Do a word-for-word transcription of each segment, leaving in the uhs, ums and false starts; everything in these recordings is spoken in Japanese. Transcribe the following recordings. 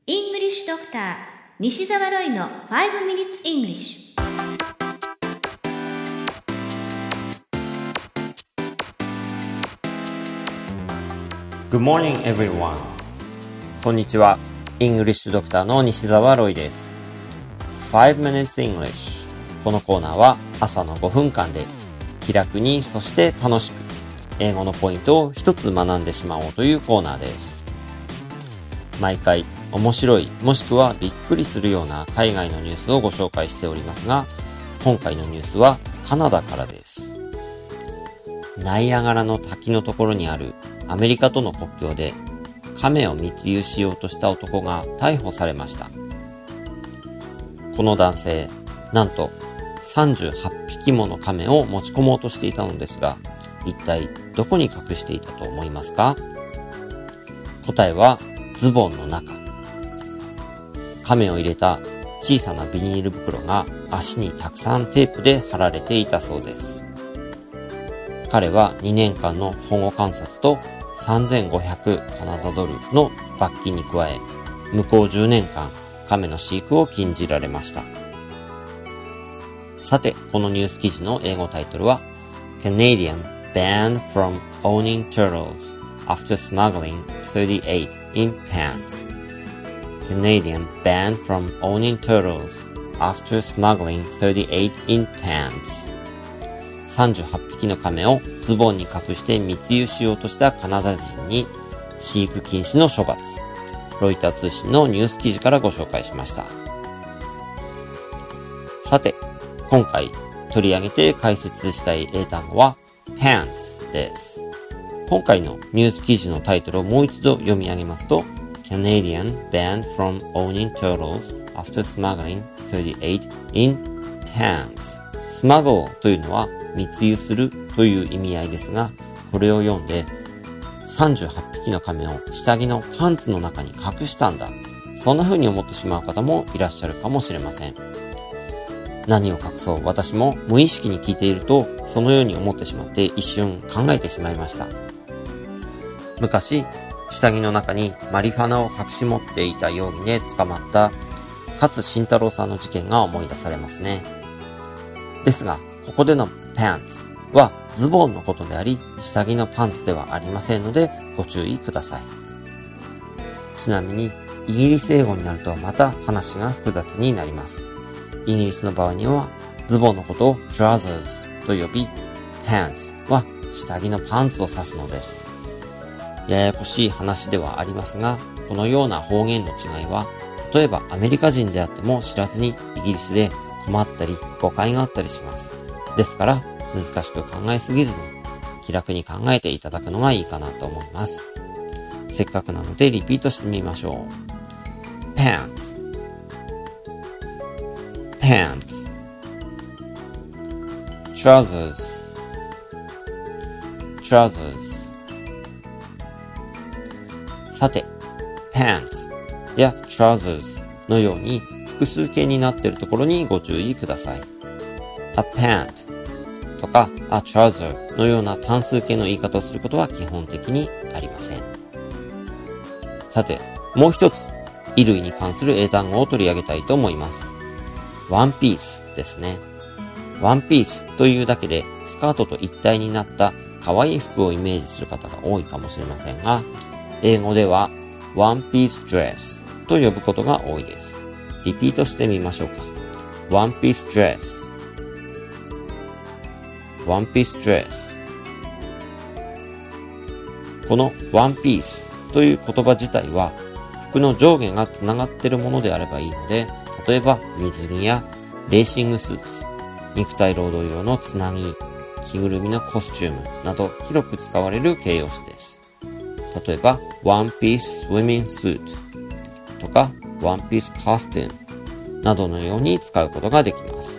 English Doctor 西澤ロイのファイブ Minutes English。 Good morning, everyone. こんにちは。イングリッシュドクターの西澤ロイです。ファイブ Minutes English。このコーナーは朝のごふんかんで気楽に、そして楽しく英語のポイントを一つ学んでしまおうというコーナーです。毎回面白い、もしくはびっくりするような海外のニュースをご紹介しておりますが、今回のニュースはカナダからです。ナイアガラの滝のところにあるアメリカとの国境で亀を密輸しようとした男が逮捕されました。この男性、なんとさんじゅうはっぴきもの亀を持ち込もうとしていたのですが、一体どこに隠していたと思いますか？答えはズボンの中。亀を入れた小さなビニール袋が足にたくさんテープで貼られていたそうです。彼はにねんかんの保護観察とさんぜんごひゃくカナダドルの罰金に加え、向こうじゅうねんかん亀の飼育を禁じられました。さて、このニュース記事の英語タイトルは Canadian banned from owning turtles after smuggling thirty-eight in pants. Canadian banned from owning turtles after smuggling thirty-eight in pants. さんじゅうはっぴきの亀をズボンに隠して密輸しようとしたカナダ人に飼育禁止の処罰。ロイター通信のニュース記事からご紹介しました。さて、今回取り上げて解説したい英単語は pants です。今回のニュース記事のタイトルをもう一度読み上げますと Canadian banned from owning turtles after smuggling thirty-eight in pants。 smuggle というのは密輸するという意味合いですが、これを読んでさんじゅうはっぴきの亀を下着のパンツの中に隠したんだ、そんな風に思ってしまう方もいらっしゃるかもしれません。何を隠そう、私も無意識に聞いているとそのように思ってしまって一瞬考えてしまいました。昔、下着の中にマリファナを隠し持っていた容疑で捕まった勝新太郎さんの事件が思い出されますね。ですが、ここでの pants はズボンのことであり、下着のパンツではありませんのでご注意ください。ちなみに、イギリス英語になるとまた話が複雑になります。イギリスの場合には、ズボンのことを trousers と呼び、pants は下着のパンツを指すのです。ややこしい話ではありますが、このような方言の違いは、例えばアメリカ人であっても知らずにイギリスで困ったり誤解があったりします。ですから難しく考えすぎずに気楽に考えていただくのがいいかなと思います。せっかくなのでリピートしてみましょう。 pants pants trousers trousers。さて、pants や trousers のように複数形になっているところにご注意ください。a pant とか a trouser のような単数形の言い方をすることは基本的にありません。さて、もう一つ衣類に関する英単語を取り上げたいと思います。ワンピースですね。ワンピースというだけでスカートと一体になった可愛い服をイメージする方が多いかもしれませんが、英語ではワンピースドレスと呼ぶことが多いです。リピートしてみましょうか。ワンピースドレス、ワンピースドレス。このワンピースという言葉自体は服の上下がつながっているものであればいいので、例えば水着やレーシングスーツ、肉体労働用のつなぎ、着ぐるみのコスチュームなど広く使われる形容詞です。例えば One Piece Swimming Suit とか One Piece Costume などのように使うことができます。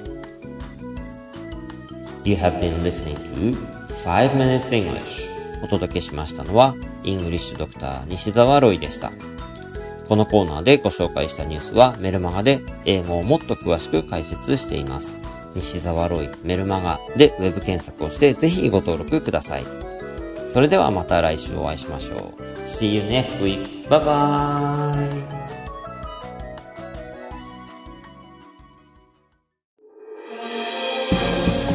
You have been listening to ファイブ Minutes English。 お届けしましたのはイングリッシュドクター西澤ロイでした。このコーナーでご紹介したニュースはメルマガで英語をもっと詳しく解説しています。西澤ロイメルマガでウェブ検索をしてぜひご登録ください。それではまた来週お会いしましょう。See you next week. Bye bye.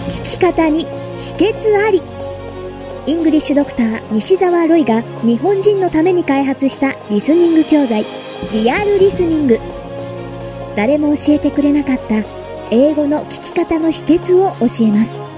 聞き方に秘訣あり。イングリッシュドクター西澤ロイが日本人のために開発したリスニング教材、リアルリスニング。誰も教えてくれなかった英語の聞き方の秘訣を教えます。